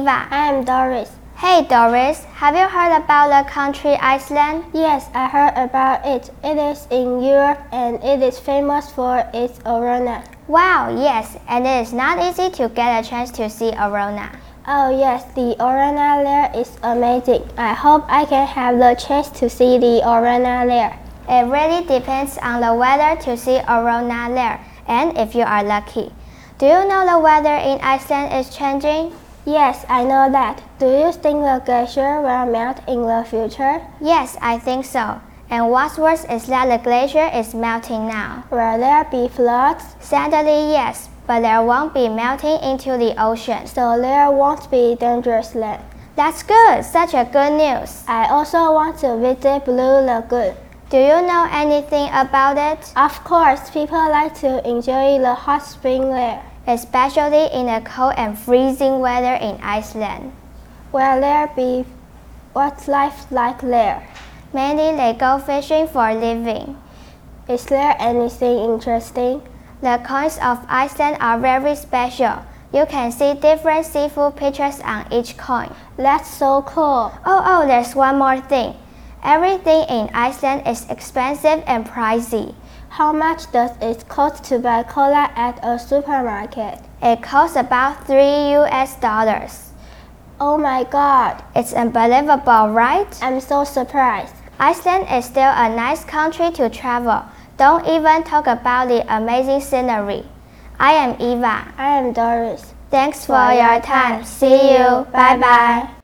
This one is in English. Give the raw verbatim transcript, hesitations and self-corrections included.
Eva. I am Doris. Hey Doris, have you heard about the country Iceland? Yes, I heard about it. It is in Europe and it is famous for its aurora. Wow, yes, and it is not easy to get a chance to see aurora. Oh yes, the aurora there is amazing. I hope I can have the chance to see the aurora there. It really depends on the weather to see aurora there, and if you are lucky. Do you know the weather in Iceland is changing? Yes, I know that. Do you think the glacier will melt in the future? Yes, I think so. And what's worse is that the glacier is melting now. Will there be floods? Sadly, yes, but there won't be melting into the ocean. So there won't be dangerous land. That's good, such a good news. I also want to visit Blue Lagoon. Do you know anything about it? Of course, people like to enjoy the hot spring there, especially in the cold and freezing weather in Iceland. Will there be what's life like there? Mainly they go fishing for a living. Is there anything interesting? The coins of Iceland are very special. You can see different seafood pictures on each coin. That's so cool. Oh, oh, there's one more thing. Everything in Iceland is expensive and pricey. How much does it cost to buy cola at a supermarket? It costs about three U S dollars. Oh my god. It's unbelievable, right? I'm so surprised. Iceland is still a nice country to travel. Don't even talk about the amazing scenery. I am Eva. I am Doris. Thanks for, for your time. See you. Bye bye.